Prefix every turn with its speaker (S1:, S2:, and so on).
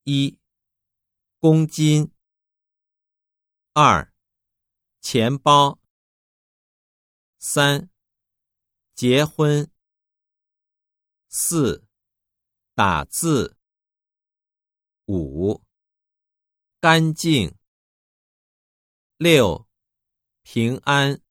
S1: 1. 公斤。2. 钱包。3. 结婚。4. 打字。5. 干净。6. 平安。